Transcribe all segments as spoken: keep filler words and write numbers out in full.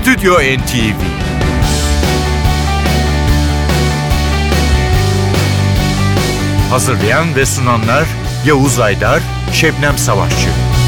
Stüdyo N T V. Hazırlayan ve sunanlar Yavuz Aydar, Şebnem Savaşçı.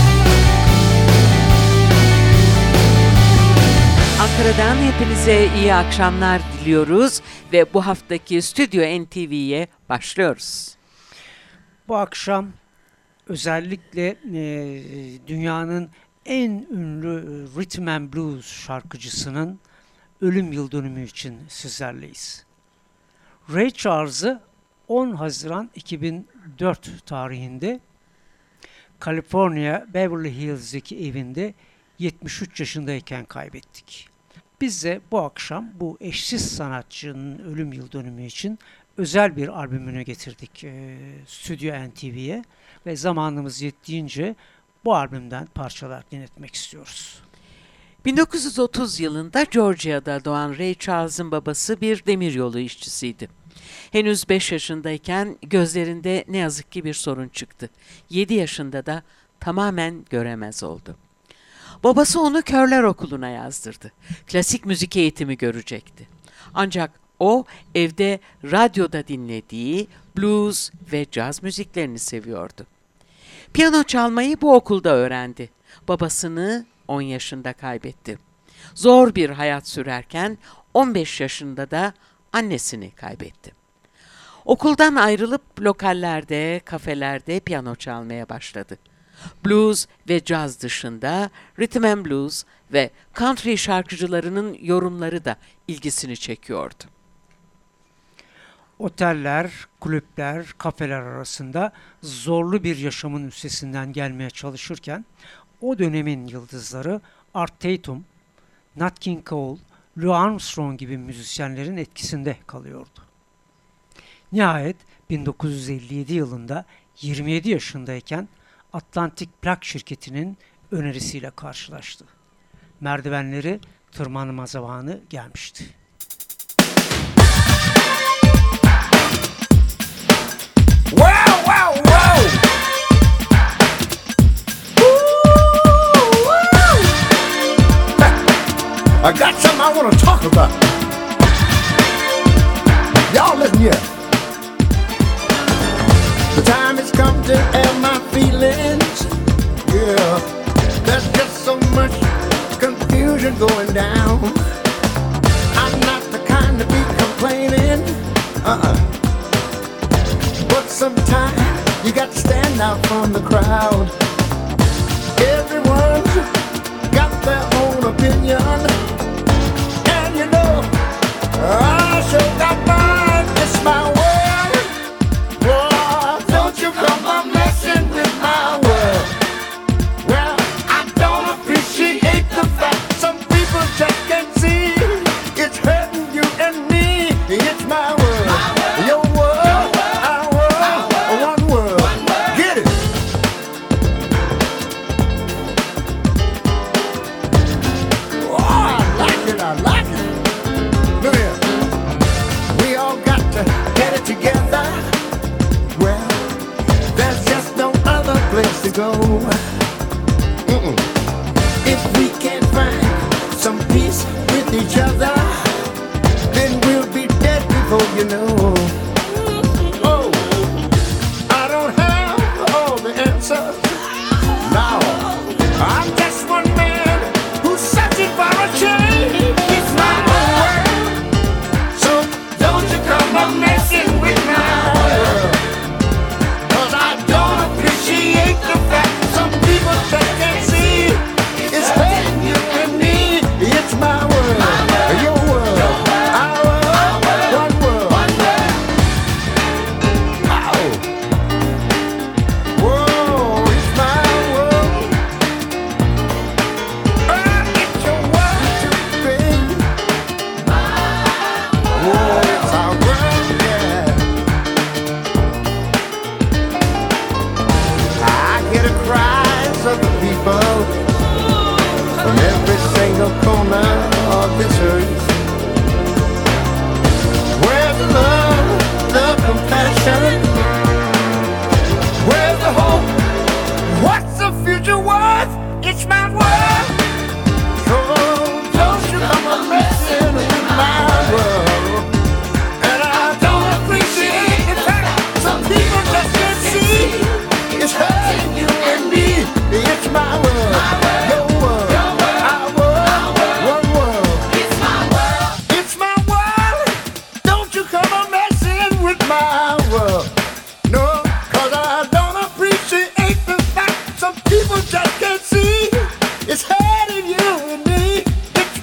Ankara'dan hepinize iyi akşamlar diliyoruz ve bu haftaki Stüdyo N T V'ye başlıyoruz. Bu akşam özellikle e, dünyanın en ünlü Rhythm and Blues şarkıcısının ölüm yıl dönümü için sizlerleyiz. Ray Charles'ı on Haziran iki bin dört tarihinde Kaliforniya Beverly Hills'deki evinde yetmiş üç yaşındayken kaybettik. Biz de bu akşam bu eşsiz sanatçının ölüm yıl dönümü için özel bir albümünü getirdik e, Stüdyo N T V'ye ve zamanımız yettiğince bu albümden parçalar dinletmek istiyoruz. bin dokuz yüz otuz yılında Georgia'da doğan Ray Charles'ın babası bir demiryolu işçisiydi. Henüz beş yaşındayken gözlerinde ne yazık ki bir sorun çıktı. yedi yaşında da tamamen göremez oldu. Babası onu körler okuluna yazdırdı. Klasik müzik eğitimi görecekti. Ancak o evde radyoda dinlediği blues ve caz müziklerini seviyordu. Piyano çalmayı bu okulda öğrendi. Babasını on yaşında kaybetti. Zor bir hayat sürerken on beş yaşında da annesini kaybetti. Okuldan ayrılıp lokallerde, kafelerde piyano çalmaya başladı. Blues ve caz dışında rhythm and blues ve country şarkıcılarının yorumları da ilgisini çekiyordu. Oteller, kulüpler, kafeler arasında zorlu bir yaşamın üstesinden gelmeye çalışırken o dönemin yıldızları Art Tatum, Nat King Cole, Louis Armstrong gibi müzisyenlerin etkisinde kalıyordu. Nihayet bin dokuz yüz elli yedi yılında yirmi yedi yaşındayken Atlantic Plak şirketinin önerisiyle karşılaştı. Merdivenleri tırmanma zamanı gelmişti. Wow, wow, wow! Ooh, wow. I got something I want to talk about. Y'all listen here. The time has come to air my feelings. Yeah, there's just so much confusion going down. I'm not the kind to be complaining. Uh-uh. But sometimes you got to stand out from the crowd. Everyone's got their own opinion. And you know, I sure got mine. It's my world. Boy, don't you come a messing with my world. Well, I don't appreciate the fact some people just can't see. It's hurting you and me. It's my world. Your world. Oh,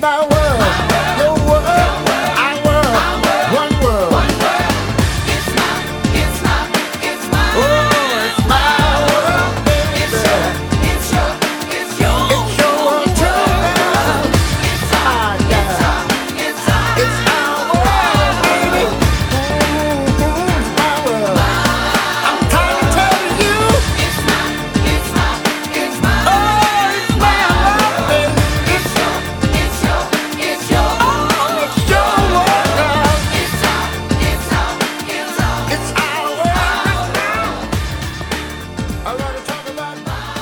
my world, your world, our world, one world. Oh, it's my world, baby. It's your world too, girl. Ah, yeah. It's our world, baby. Mm-hmm, it's my world. I'm trying to tell you. Oh, it's my world, baby. It's your world, girl. It's our world. I wanna talk about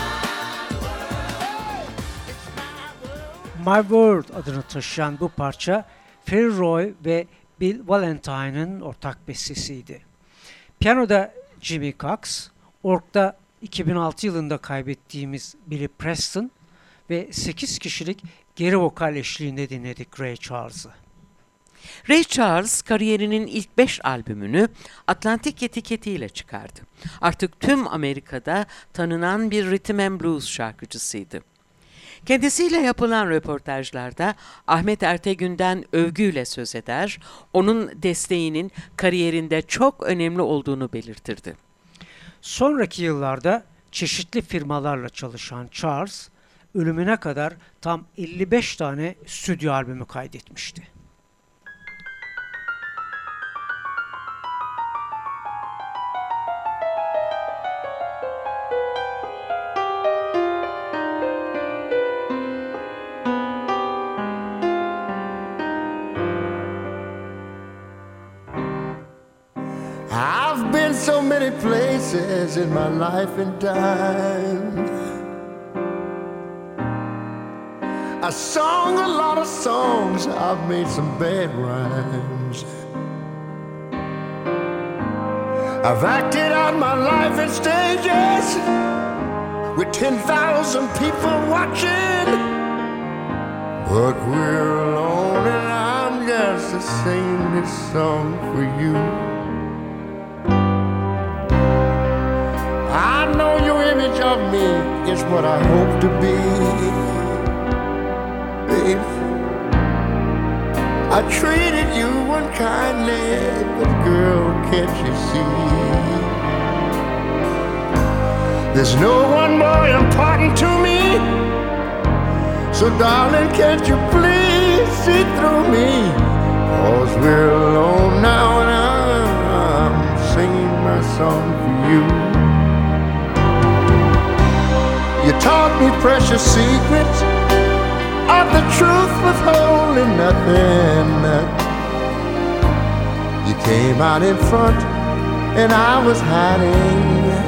My World adını taşıyan bu parça Ferry Roy ve Bill Valentine'ın ortak bestesiydi. Piyanoda Jimmy Cox, orgda iki bin altı yılında kaybettiğimiz Billy Preston ve sekiz kişilik geri vokal eşliğinde dinledik Ray Charles'ı. Ray Charles kariyerinin ilk beş albümünü Atlantic etiketiyle çıkardı. Artık tüm Amerika'da tanınan bir rhythm and blues şarkıcısıydı. Kendisiyle yapılan röportajlarda Ahmet Ertegün'den övgüyle söz eder, onun desteğinin kariyerinde çok önemli olduğunu belirtirdi. Sonraki yıllarda çeşitli firmalarla çalışan Charles, ölümüne kadar tam elli beş tane stüdyo albümü kaydetmişti. I've been so many places in my life and time. I sung a lot of songs, I've made some bad rhymes. I've acted out my life in stages with ten thousand people watching. But we're alone and I'm just singing this song for you. I know your image of me is what I hope to be, baby. I treated you unkindly, but girl, can't you see? There's no one more important to me. So darling, can't you please see through me? 'Cause we're alone now and I'm singing my song for you. You taught me precious secrets of the truth, withholding nothing. You came out in front and I was hiding.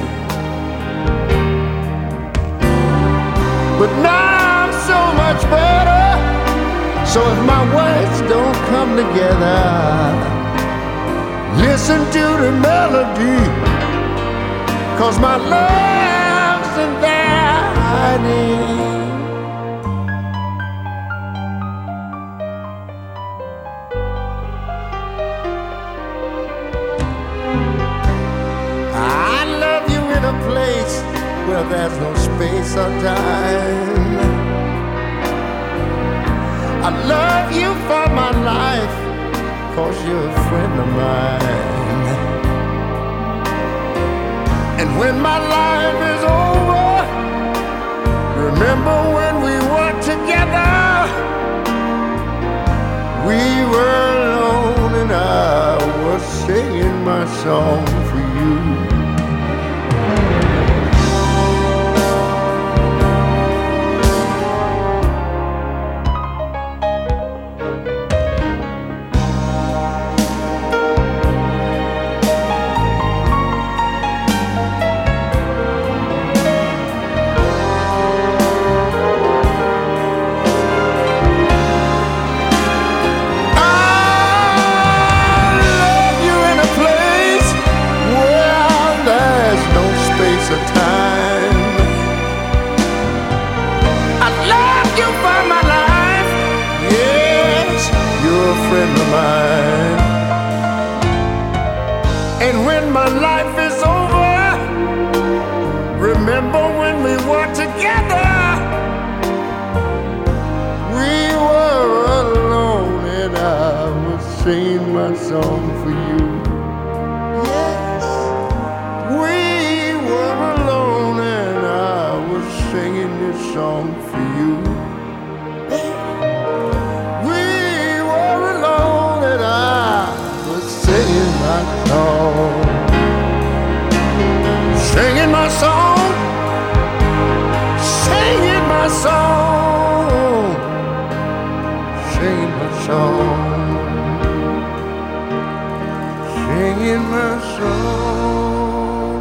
But now I'm so much better. So if my words don't come together, listen to the melody, 'cause my love's in there hiding. I love you in a place where there's no space or time. I love you for my life, 'cause you're a friend of mine. And when my life is over, remember when we were together? We were alone and I was singing my song for you. my song for you. Yes, we were alone and I was singing this song for you. We were alone and I was singing my song. Singing my song, singing my song, singing my song, singing my song.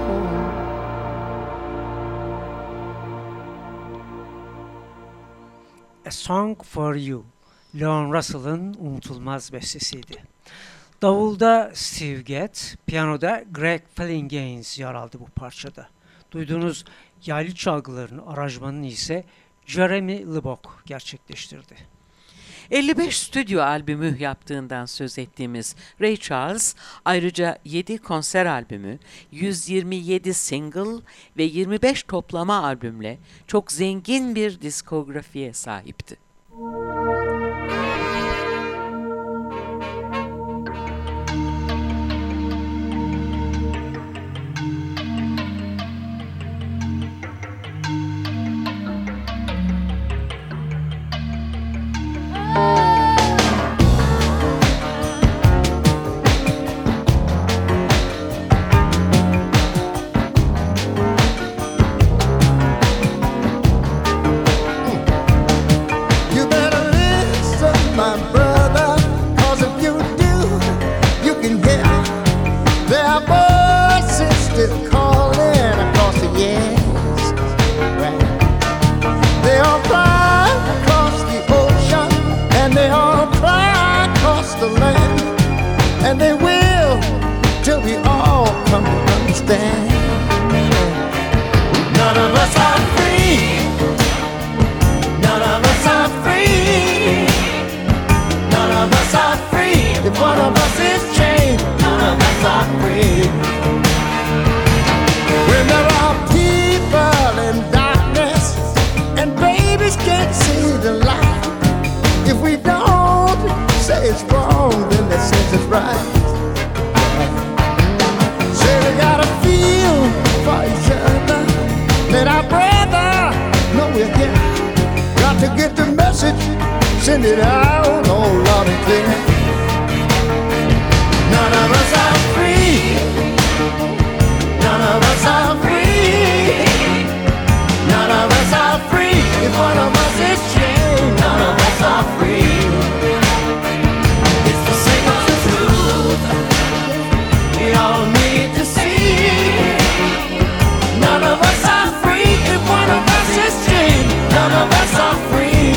A Song for You, Leon Russell'ın unutulmaz bestesiydi. Davulda Steve Gadd, piyanoda Greg Phillinganes yer aldı bu parçada. Duyduğunuz yaylı çalgıların aranjmanını ise Jeremy Lubbock gerçekleştirdi. elli beş stüdyo albümü yaptığından söz ettiğimiz Ray Charles, ayrıca yedi konser albümü, yüz yirmi yedi single ve yirmi beş toplama albümle çok zengin bir diskografiye sahipti. You better listen, my brother, 'cause if you do, you can hear their voices still calling across the years. Right. They all fly across the ocean, and they all fly across the land, and they will till we all come to understand. None of us are free. None of us are free. None of us are free. If one of us is chained, none of us are free. When there are people in darkness and babies can't see the light, if we don't say it's wrong, then they say it's right. Say we gotta feel for each other. Let our brother know we're here. Got to get the message, send it out, oh loud and clear. None of us are free. None of us are free. None of us are free. If one of us is chained, none of us are free. It's the single truth we all need to see. None of us are free. If one of us is chained, none of us are free.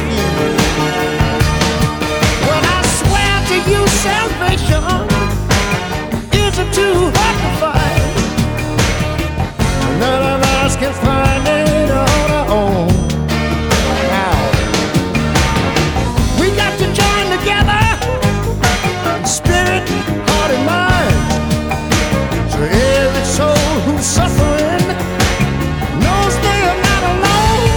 Well, I swear to you, salvation isn't too hard to find. None of us can find it on our own. Now, we got to join together, spirit, heart, and mind. So every soul who's suffering knows they are not alone.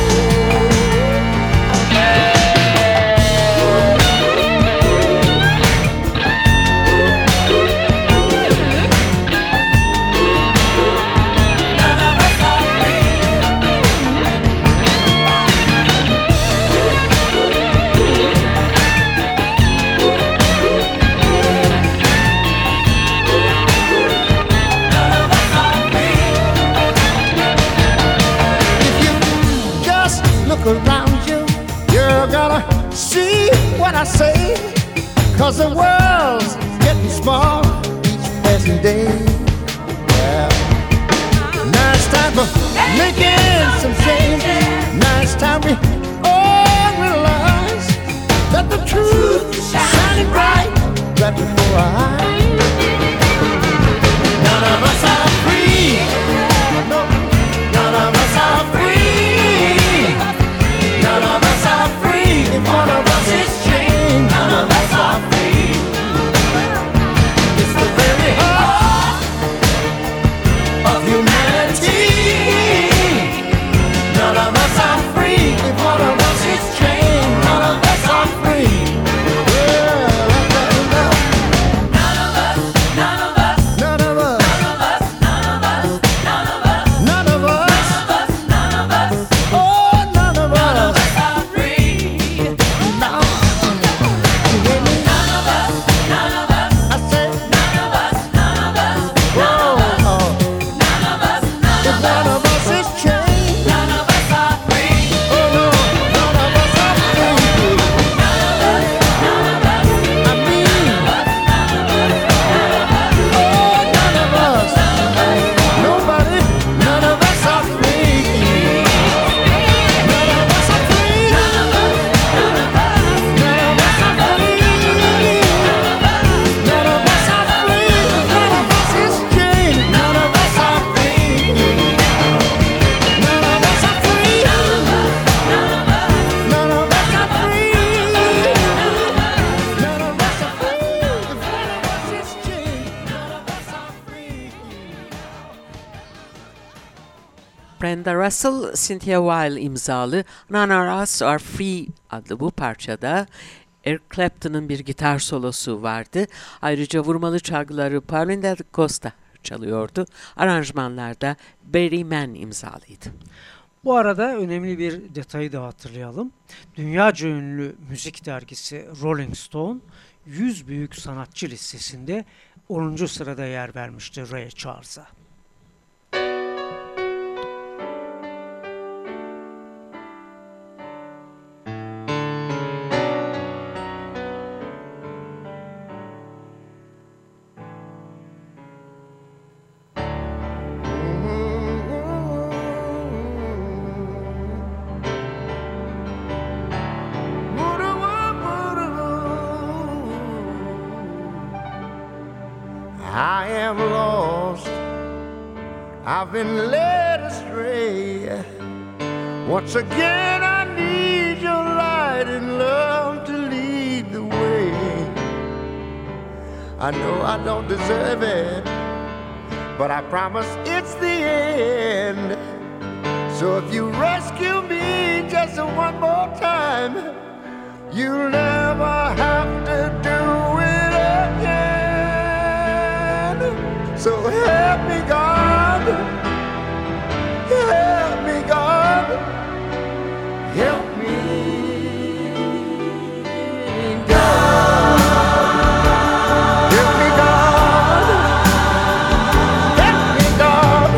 If you just look around you, you're gonna see what I say. 'Cause the world's getting small each passing day. Yeah. Now it's time for making some change. Now it's time we all realize that the truth is shining bright right before our eyes. None of us are free. No, none of us are free. None of us are free. If one of us is chained, none of us are free. It's the very heart of humanity. None of us are free. If one of us Brenda Russell, Cynthia Weil imzalı None of Us Are Free adlı bu parçada Eric Clapton'ın bir gitar solosu vardı. Ayrıca vurmalı çalgıları Paulinho da Costa çalıyordu. Aranjmanlarda Barry Mann imzalıydı. Bu arada önemli bir detayı da hatırlayalım. Dünyaca ünlü müzik dergisi Rolling Stone yüz büyük sanatçı listesinde onuncu sırada yer vermişti Ray Charles'a. I am lost, I've been led astray. Once again I need your light and love to lead the way. I know I don't deserve it, but I promise it's the end. So if you rescue me just one more time, you'll never have to do it again. So help me, God, help me, God, help me, God, help me, God, help me, God,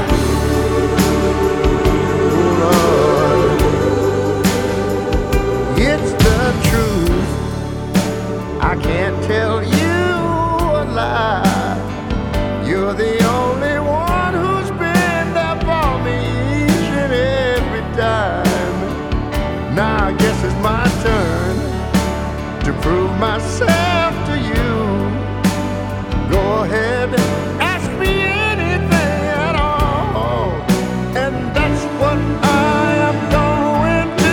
oh Lord, it's the truth, I can't tell you a lie. You're the only one who's been there for me each and every time. Now I guess it's my turn to prove myself to you. Go ahead, ask me anything at all, and that's what I am going to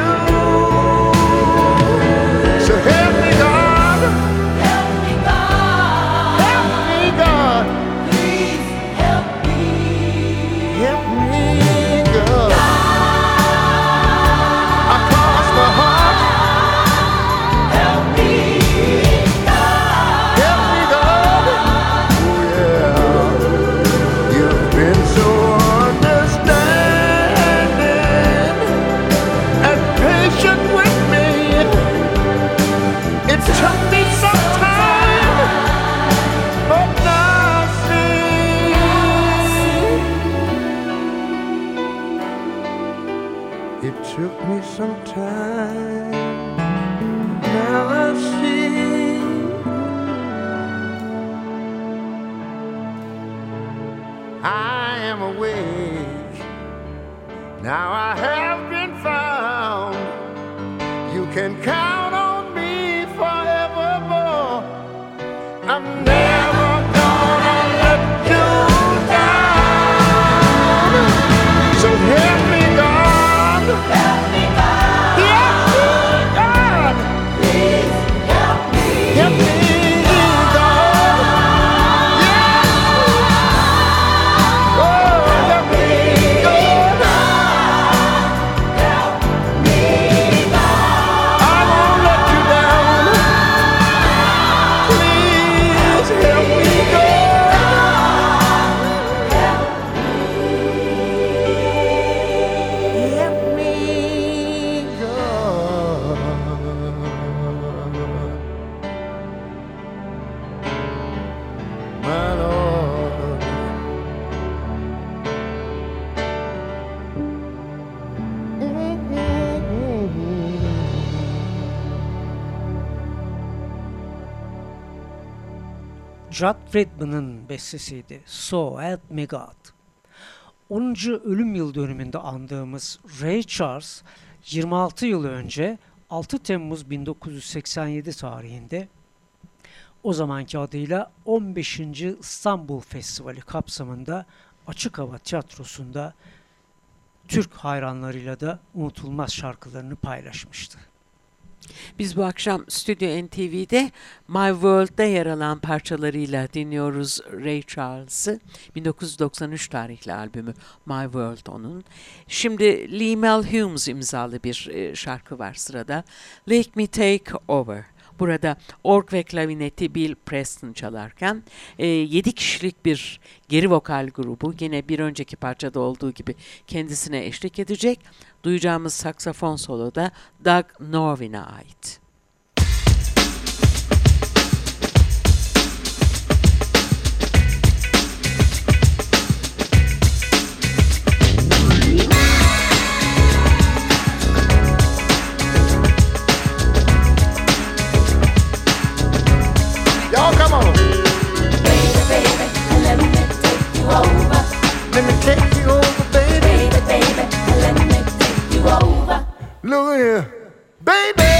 do. So help me, God, help me, God, help me, God. Help me, God. Across my heart. Help me, God. Help me, God. Oh yeah. You've been so understanding and patient with me. It took me some time, but now I see. It took me some time, now I see. I am awake, now I have been found. You can count on me forevermore. I'm never gonna let you down. So help me, God. Help me, God. Help me, God. Please help me. Help me, God. Yes. Oh, help me, God. Help me, God. I won't let you down. Please help me, God. Help me, God. My Lord. Judd Friedman'ın bestesiydi. So Help Me God. onuncu ölüm yıl dönümünde andığımız Ray Charles yirmi altı yıl önce altı Temmuz bin dokuz yüz seksen yedi tarihinde o zamanki adıyla on beşinci İstanbul Festivali kapsamında Açık Hava Tiyatrosu'nda Türk hayranlarıyla da unutulmaz şarkılarını paylaşmıştı. Biz bu akşam Stüdyo N T V'de My World'da yer alan parçalarıyla dinliyoruz Ray Charles'ı. bin dokuz yüz doksan üç tarihli albümü My World onun. Şimdi Lee Mel Humes imzalı bir e, şarkı var sırada. Let Me Take Over. Burada org ve klavineti Bill Preston çalarken e, yedi kişilik bir geri vokal grubu yine bir önceki parçada olduğu gibi kendisine eşlik edecek. Duyacağımız saksafon solo da Doug Norvin'e ait. Y'all come on. Baby, baby, let me take you over. Let me take you over, baby. Baby, baby, let me take you over. Look here. Baby,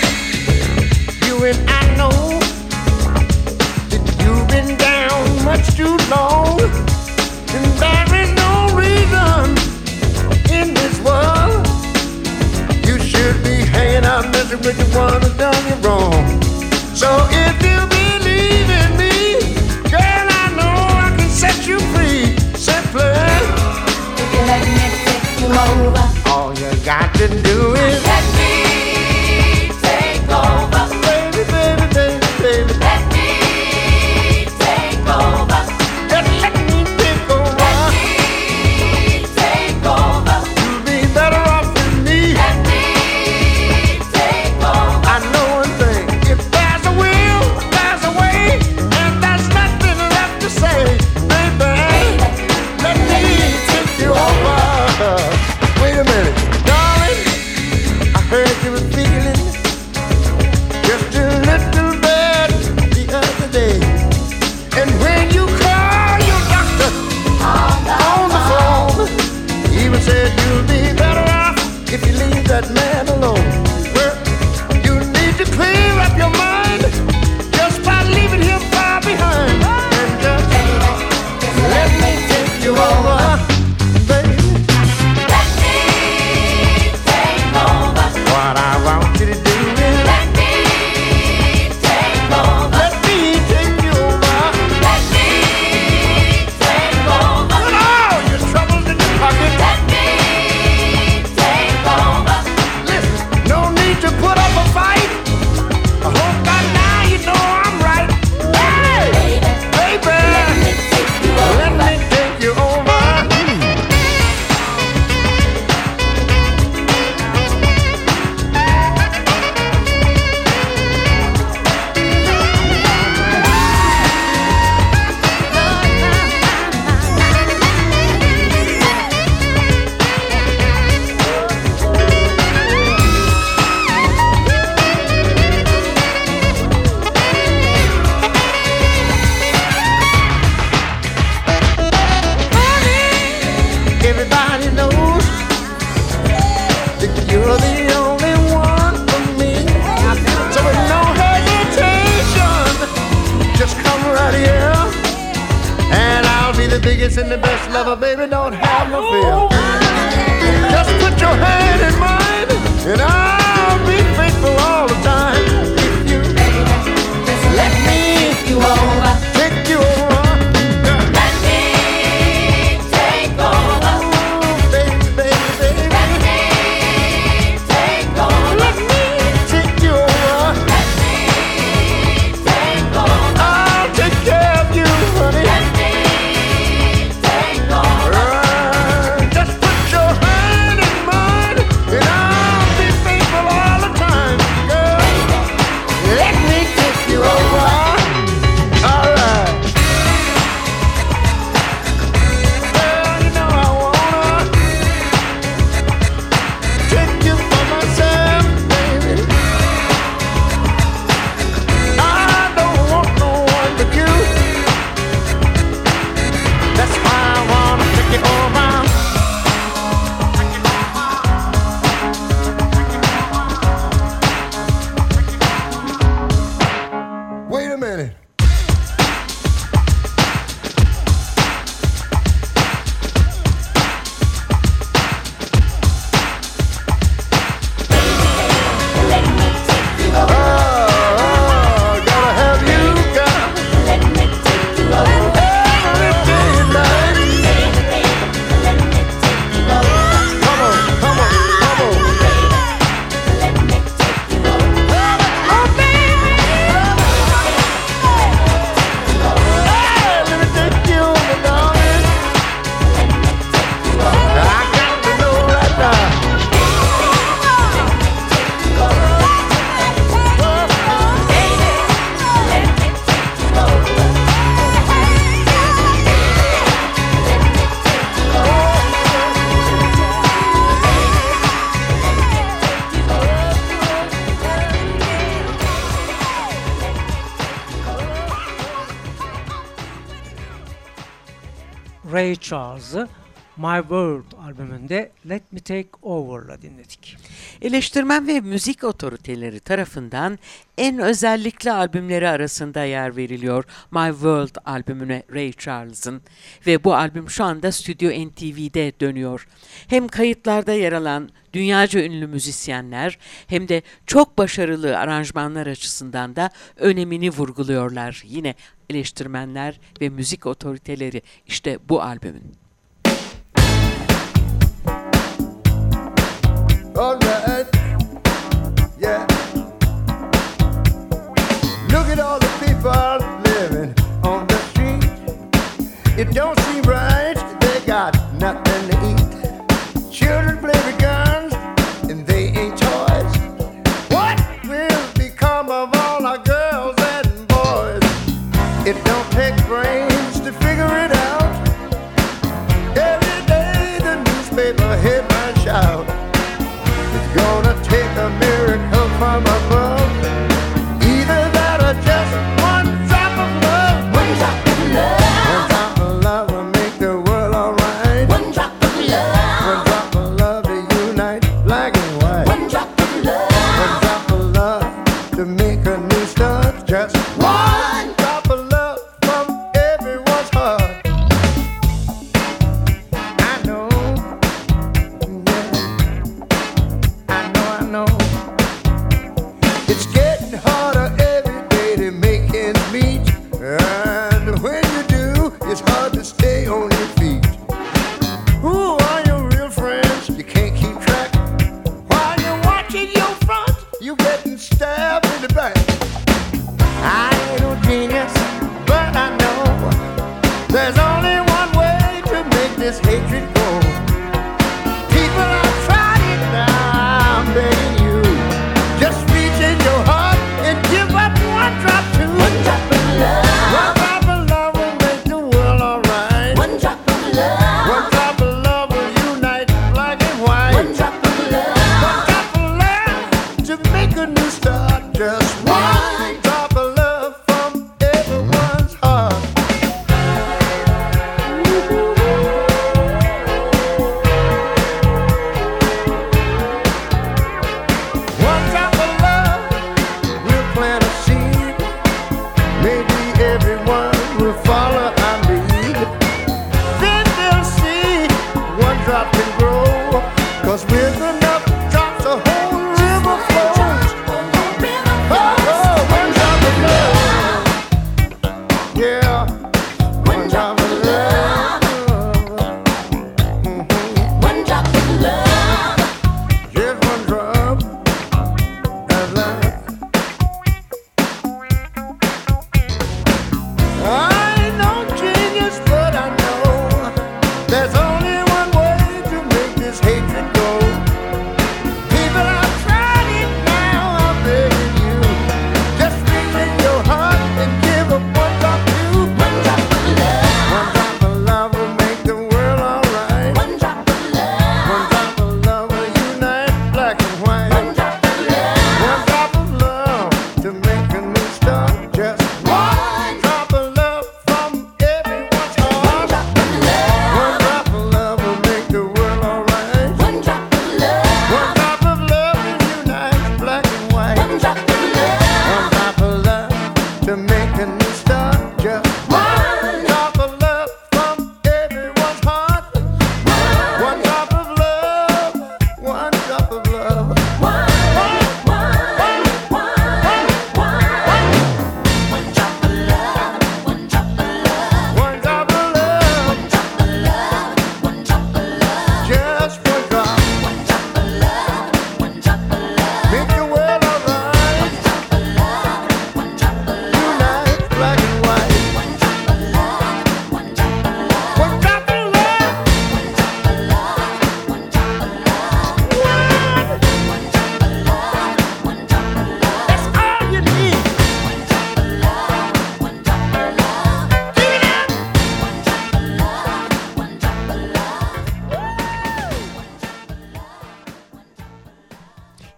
you and I know that you've been down much too long. And there is no reason in this world you should be hanging out messing with the one who done you wrong. So if you believe in me, girl, I know I can set you free. Simply, If you let me take you over, all you got to do is let me take over. baby, baby, baby, baby. Let me take over. Just let me take over. Let me take over. You'll be better off with me. Let me take over. I know one thing. If there's a will, there's a way, and there's nothing left to say, baby. Let me take you over. Wait a minute, darling. I heard you were feeling just a little bad the other day, and when you call your doctor on the phone, he even said you'll be better off if you leave that man alone. Well, you need to clear up your mind just by leaving him far behind, and just let me take you over, baby. Let me take over. What I want you to do is Let me take over. let me take you over. Let me take over. Put all your troubles in your pocket. Let me take over. Listen, no need to put up a fight. I hope by now you know I'm right. Hey, baby, Let me take you let over. me take you over. Everybody knows that you're the only one for me. So with no hesitation, just come right here, and I'll be the biggest and the best lover, baby. Don't have no fear. Just put your hand in mine, and I'll be faithful all the time. If you let me Take you over. take you over, Let me take over. baby, baby, baby. Let me take over. Let me take you over. Let me take over. I'll take care of you, honey. Let me take over. Girl, Ray Charles'ı My World albümünde Let Me Take Over'la dinledik. Eleştirmen ve müzik otoriteleri tarafından en özellikli albümleri arasında yer veriliyor My World albümüne Ray Charles'ın ve bu albüm şu anda Stüdyo N T V'de dönüyor. Hem kayıtlarda yer alan dünyaca ünlü müzisyenler hem de çok başarılı aranjmanlar açısından da önemini vurguluyorlar. Yine eleştirmenler ve müzik otoriteleri işte bu albümün. All right, yeah. Look at all the people living on the street. It don't seem right, they got nothing to eat. Children play with guns and they ain't toys. What will become of all our girls and boys? It don't take brains to figure it out. Every day the newspaper headlines shout, gonna take a miracle from above. Either that or just one drop of love. One drop of love. One drop of love will make the world alright. One drop of love. One drop of love to unite black and white. One drop of love. One drop of love to make a new start. Just one drop of love from everyone's heart. I know. It's getting harder every day to make ends meet, and when you do, it's hard to stay on your feet. Who are your real friends? You can't keep track. While you're watching your front, you getting stabbed in the back. I ain't no genius, but I know there's only one way to make this hatred go. People are trying now, I'm begging you, just reach in your heart and give up one drop too. One drop of love. One drop of love will make the world alright. One drop of love. One drop of love will unite black and white. One drop of love. One drop of love to make a new start. Just one drop of love from everyone's heart.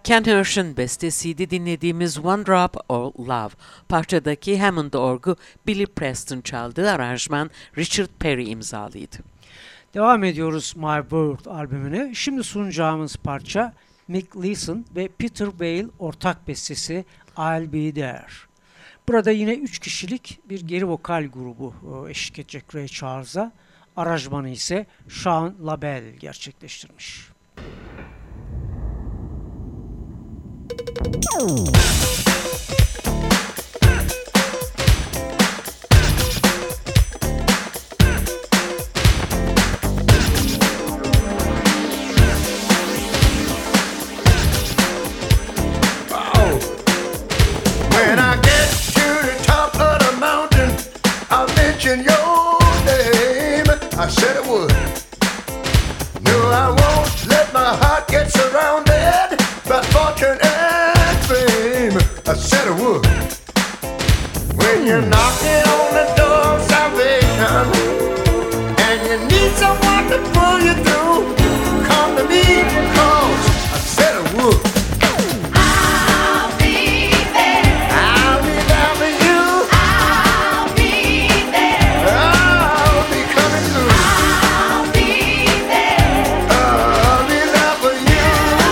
Ken Hirsch'ın bestesiydi dinlediğimiz One Drop of Love. Parçadaki Hammond orgu Billy Preston çaldığı, aranjman Richard Perry imzalıydı. Devam ediyoruz My World albümüne. Şimdi sunacağımız parça Mick Leeson ve Peter Vale ortak bestesi I'll Be There. Burada yine üç kişilik bir geri vokal grubu e, eşlik edecek Ray Charles'a. Aranjmanı ise Sean LaBelle gerçekleştirmiş. When I get to the top of the mountain, I'll mention your name. I said I would. No, I won't let my heart get surrounded by fortune and fame. I said I would. When you're knocking on the door of salvation and you need someone to pull you through, come to me, 'cause I said I would. I'll be there. I'll be there for you. I'll be there. I'll be coming through. I'll be there. I'll be there for you.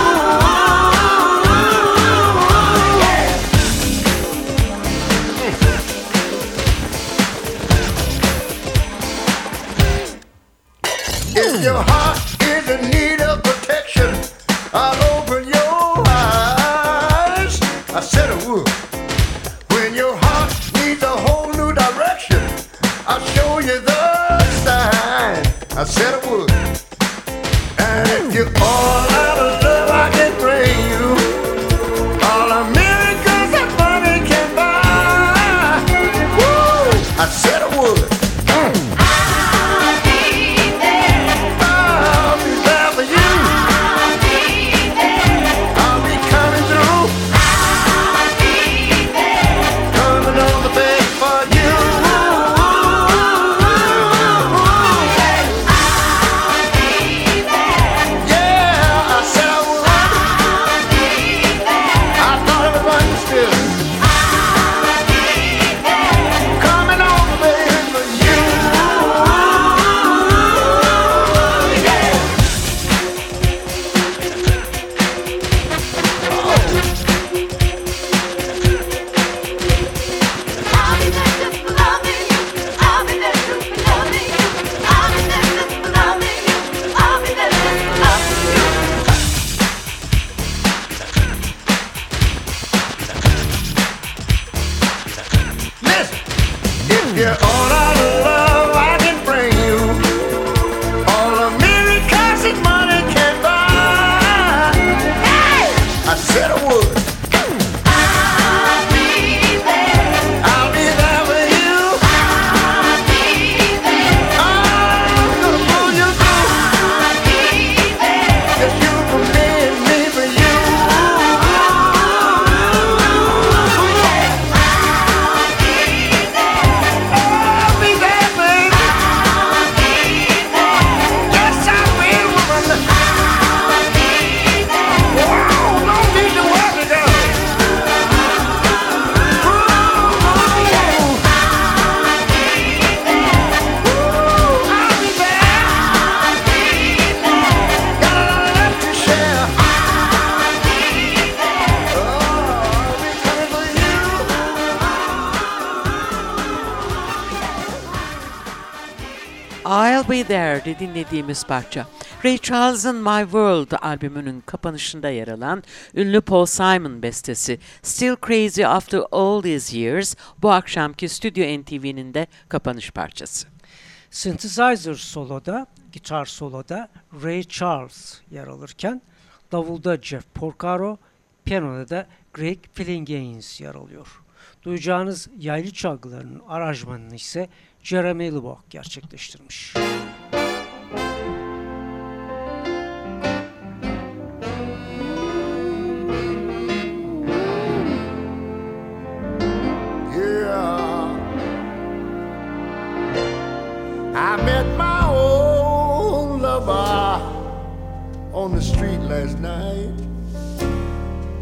If your heart is in need of protection, I'll open your eyes. I said I would. When your heart needs a whole new direction, I'll show you the sign. I said I would. And if you're all out of love, I can bring you all the miracles that money can buy. Woo! I said I would. Mm. I'll be there. I'll be there for you. I'll be there. I'll be coming through, I'll be there. coming on the bed for you. Yeah, I said I would. I thought it was understood. Coming on the bed for you. I'll be there just for loving you. I'll be there just for loving you. I'll be there just for loving you. I'll be there just for loving you. Listen, if you're all out of love, I can bring you all the miracles that money can buy. Hey! I said I would. I'll be there. I'll be there for you. I'll be there. I'm gonna pull you through. I'll be there. It's you for me and me for you. I'll be there, baby. Yes, I will, woman. Wow, no need to worry, girl. I'll be there. Got a lot left to share. Oh, I'll be coming for you. I'll Be There'di dinlediğimiz parça. Ray Charles'ın My World albümünün kapanışında yer alan ünlü Paul Simon bestesi Still Crazy After All These Years bu akşamki Stüdyo N T V'nin de kapanış parçası. Synthesizer soloda, gitar soloda Ray Charles yer alırken davulda Jeff Porcaro, piyanoda da Greg Phillinganes yer alıyor. Duyacağınız yaylı çalgılarının aranjmanını ise Jeremy Lubbock gerçekleştirmiş. Yeah. I met my old lover on the street last night.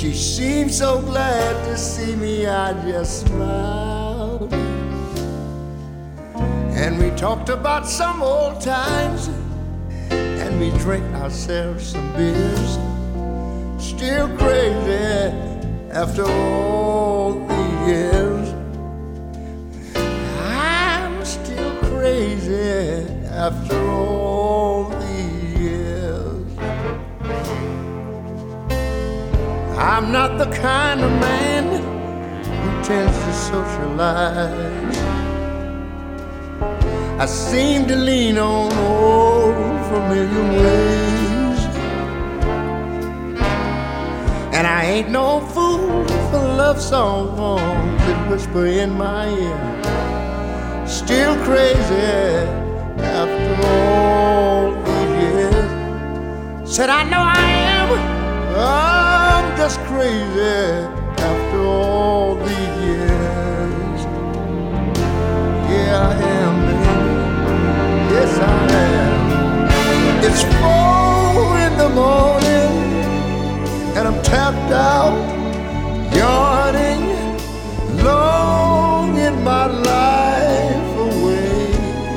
She seemed so glad to see me, I just smiled. And we talked about some old times, and we drank ourselves some beers. Still crazy after all the years. I'm still crazy after all the years. I'm not the kind of man who tends to socialize. I seem to lean on old familiar ways. And I ain't no fool for love songs that whisper in my ear. Still crazy after all these years. Said I know I am, I'm just crazy after all these years. Yeah, I am, baby. Yes, I am. It's four in the morning, and I'm tapped out, yawning, longing my life away.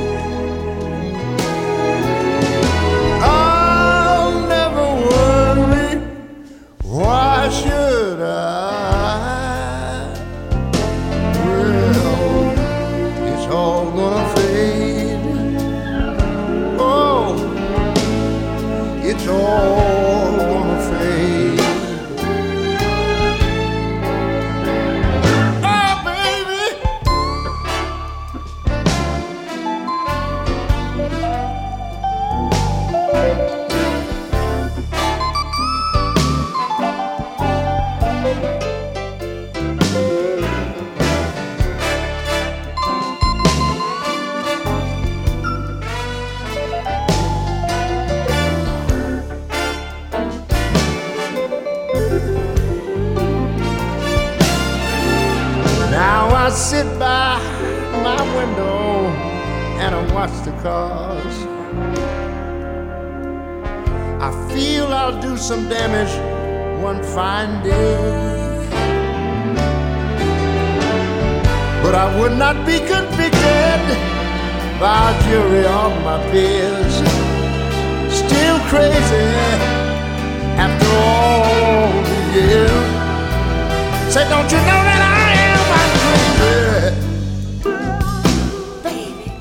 I'll never worry, why should I? Well, it's all gonna fade. Oh, it's all gonna fade. Oh, baby. Now I sit by my window and I watch the cars. I feel I'll do some damage one fine day, but I would not be convicted by a jury of my peers. Still crazy after all the years. Say, don't you know that I am? I'm crazy, baby.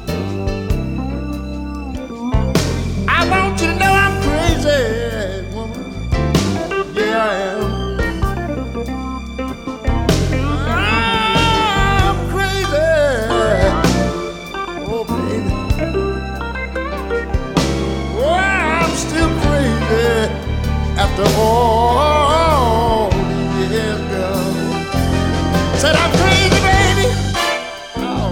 I want you to know I'm crazy, woman. Yeah, I am. I'm crazy. Oh, baby. Oh, I'm still crazy after all these years, girl. Said I'm crazy, baby. Oh,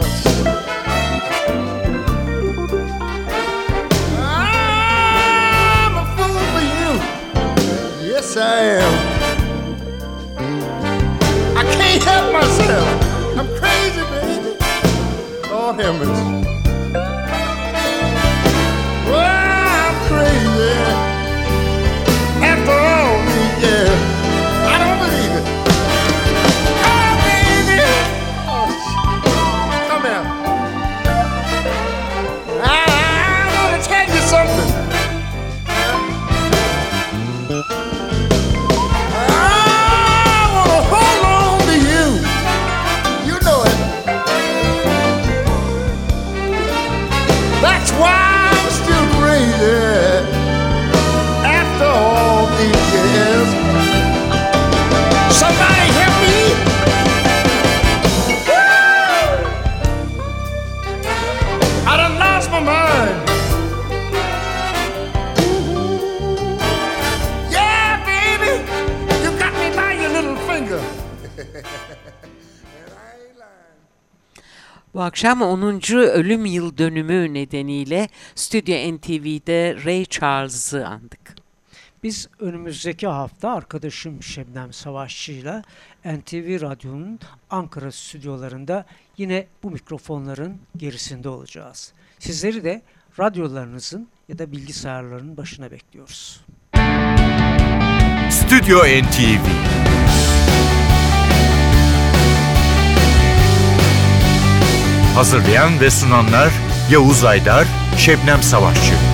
I'm a fool for you. Yes, I am. I can't help myself. I'm crazy, baby. Lord have mercy. Well, I'm crazy after all these years. I don't believe it. Something. I wanna hold on to you. You know it. That's why I'm still crazy after all these years. Somebody help me. Woo! I done lost my mind. Bu akşam onuncu ölüm yıl dönümü nedeniyle Stüdyo N T V'de Ray Charles'ı andık. Biz önümüzdeki hafta arkadaşım Şebnem Savaşçı'yla N T V Radyo'nun Ankara stüdyolarında yine bu mikrofonların gerisinde olacağız. Sizleri de radyolarınızın ya da bilgisayarların başına bekliyoruz. Stüdyo N T V Hazırlayan ve sunanlar Yavuz Aydar, Şebnem Savaşçı.